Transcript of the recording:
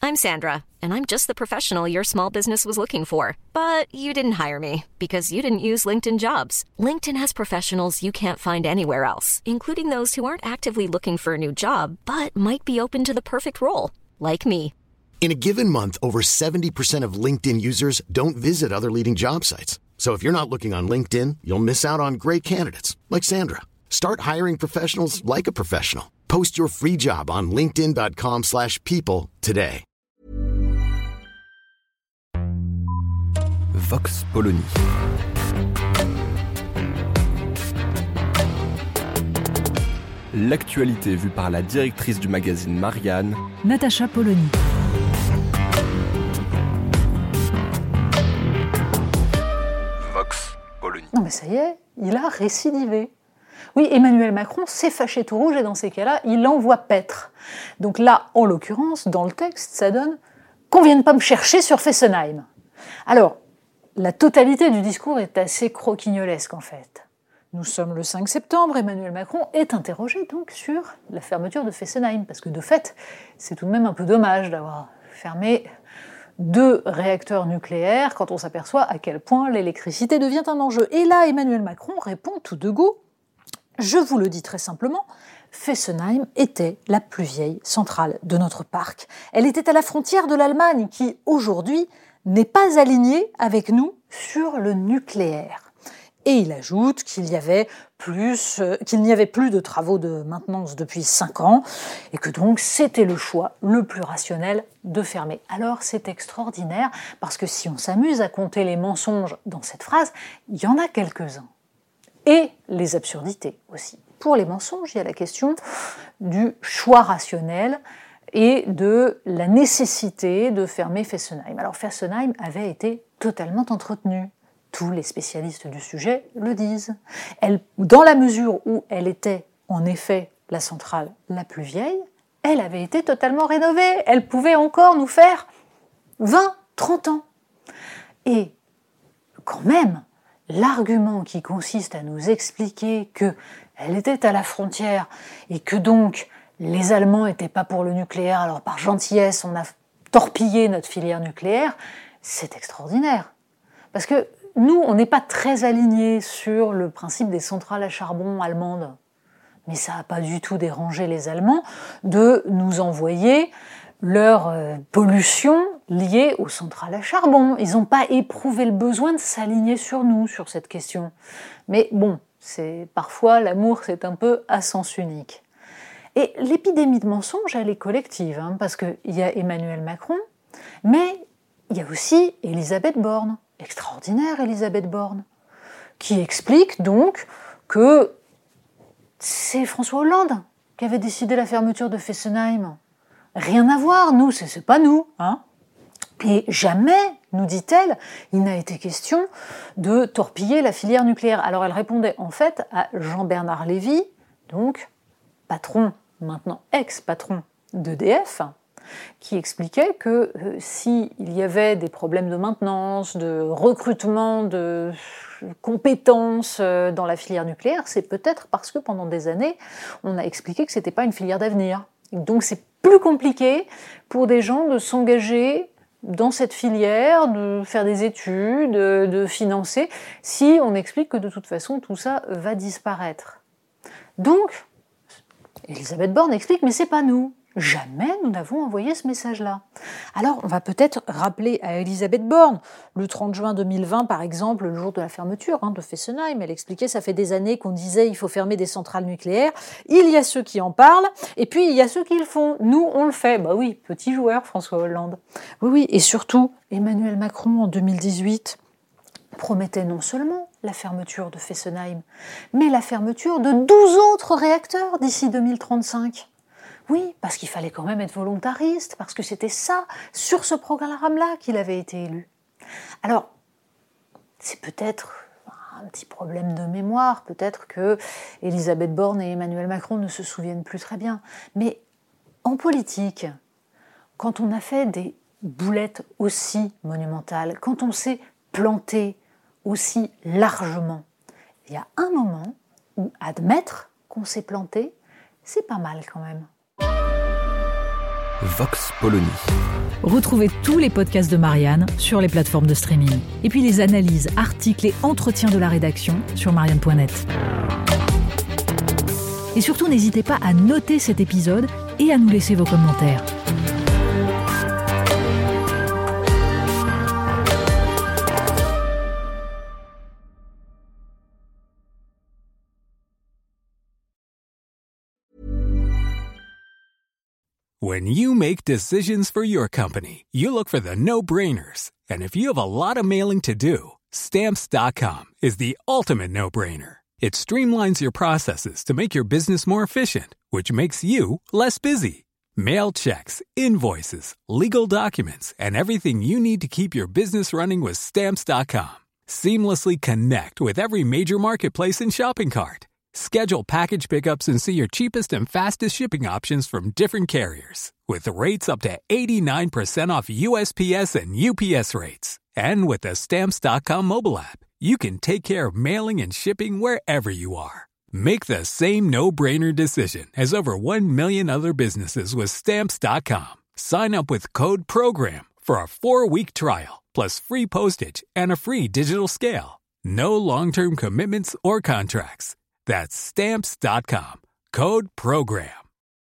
I'm Sandra, and I'm just the professional your small business was looking for. But you didn't hire me because you didn't use LinkedIn Jobs. LinkedIn has professionals you can't find anywhere else, including those who aren't actively looking for a new job, but might be open to the perfect role, like me. In a given month, over 70% of LinkedIn users don't visit other leading job sites. So if you're not looking on LinkedIn, you'll miss out on great candidates like Sandra. Start hiring professionals like a professional. Post your free job on linkedin.com/people today. Vox Polony. L'actualité vue par la directrice du magazine Marianne, Natacha Polony. Vox Polony. Non mais ça y est, il a récidivé. Oui, Emmanuel Macron s'est fâché tout rouge et dans ces cas-là, il envoie paître. Donc là, en l'occurrence, dans le texte, ça donne qu'on vienne pas me chercher sur Fessenheim. Alors, la totalité du discours est assez croquignolesque en fait. Nous sommes le 5 septembre, Emmanuel Macron est interrogé donc sur la fermeture de Fessenheim, parce que de fait, c'est tout de même un peu dommage d'avoir fermé 2 réacteurs nucléaires quand on s'aperçoit à quel point l'électricité devient un enjeu. Et là, Emmanuel Macron répond tout de go. Je vous le dis très simplement, Fessenheim était la plus vieille centrale de notre parc. Elle était à la frontière de l'Allemagne qui, aujourd'hui, n'est pas alignée avec nous sur le nucléaire. Et il ajoute qu'il n'y avait plus de travaux de maintenance depuis 5 ans et que donc c'était le choix le plus rationnel de fermer. Alors c'est extraordinaire parce que si on s'amuse à compter les mensonges dans cette phrase, il y en a quelques-uns. Et les absurdités aussi. Pour les mensonges, il y a la question du choix rationnel et de la nécessité de fermer Fessenheim. Alors Fessenheim avait été totalement entretenue. Tous les spécialistes du sujet le disent. Dans la mesure où elle était en effet la centrale la plus vieille, elle avait été totalement rénovée. Elle pouvait encore nous faire 20, 30 ans. Et quand même, l'argument qui consiste à nous expliquer qu'elle était à la frontière et que donc les Allemands n'étaient pas pour le nucléaire, alors par gentillesse on a torpillé notre filière nucléaire, c'est extraordinaire. Parce que nous, on n'est pas très alignés sur le principe des centrales à charbon allemandes. Mais ça n'a pas du tout dérangé les Allemands de nous envoyer leur pollution liée aux centrales à charbon. Ils n'ont pas éprouvé le besoin de s'aligner sur nous, sur cette question. Mais bon, parfois l'amour c'est un peu à sens unique. Et l'épidémie de mensonges, elle est collective, parce qu'il y a Emmanuel Macron, mais il y a aussi Elisabeth Borne, extraordinaire Elisabeth Borne, qui explique donc que c'est François Hollande qui avait décidé la fermeture de Fessenheim. Rien à voir, nous, c'est pas nous, Et jamais, nous dit-elle, il n'a été question de torpiller la filière nucléaire. Alors elle répondait en fait à Jean-Bernard Lévy, donc patron, maintenant ex-patron d'EDF, qui expliquait que s'il y avait des problèmes de maintenance, de recrutement, de compétences dans la filière nucléaire, c'est peut-être parce que pendant des années, on a expliqué que c'était pas une filière d'avenir. Donc c'est plus compliqué pour des gens de s'engager dans cette filière, de faire des études, de financer, si on explique que de toute façon tout ça va disparaître. Donc, Elisabeth Borne explique, mais c'est pas nous. Jamais nous n'avons envoyé ce message-là. Alors, on va peut-être rappeler à Elisabeth Borne, le 30 juin 2020, par exemple, le jour de la fermeture de Fessenheim, elle expliquait, ça fait des années qu'on disait il faut fermer des centrales nucléaires, il y a ceux qui en parlent, et puis il y a ceux qui le font. Nous, on le fait. Bah oui, petit joueur, François Hollande. Oui, et surtout, Emmanuel Macron, en 2018, promettait non seulement la fermeture de Fessenheim, mais la fermeture de 12 autres réacteurs d'ici 2035. Oui, parce qu'il fallait quand même être volontariste, parce que c'était ça, sur ce programme-là, qu'il avait été élu. Alors, c'est peut-être un petit problème de mémoire, peut-être que Elisabeth Borne et Emmanuel Macron ne se souviennent plus très bien. Mais en politique, quand on a fait des boulettes aussi monumentales, quand on s'est planté aussi largement, il y a un moment où admettre qu'on s'est planté, c'est pas mal quand même. Vox Polony. Retrouvez tous les podcasts de Marianne sur les plateformes de streaming. Et puis les analyses, articles et entretiens de la rédaction sur marianne.net. Et surtout, n'hésitez pas à noter cet épisode et à nous laisser vos commentaires. When you make decisions for your company, you look for the no-brainers. And if you have a lot of mailing to do, Stamps.com is the ultimate no-brainer. It streamlines your processes to make your business more efficient, which makes you less busy. Mail checks, invoices, legal documents, and everything you need to keep your business running with Stamps.com. Seamlessly connect with every major marketplace and shopping cart. Schedule package pickups and see your cheapest and fastest shipping options from different carriers. With rates up to 89% off USPS and UPS rates. And with the Stamps.com mobile app, you can take care of mailing and shipping wherever you are. Make the same no-brainer decision as over 1 million other businesses with Stamps.com. Sign up with code PROGRAM for a 4-week trial, plus free postage and a free digital scale. No long-term commitments or contracts. That's Stamps.com. Code PROGRAM.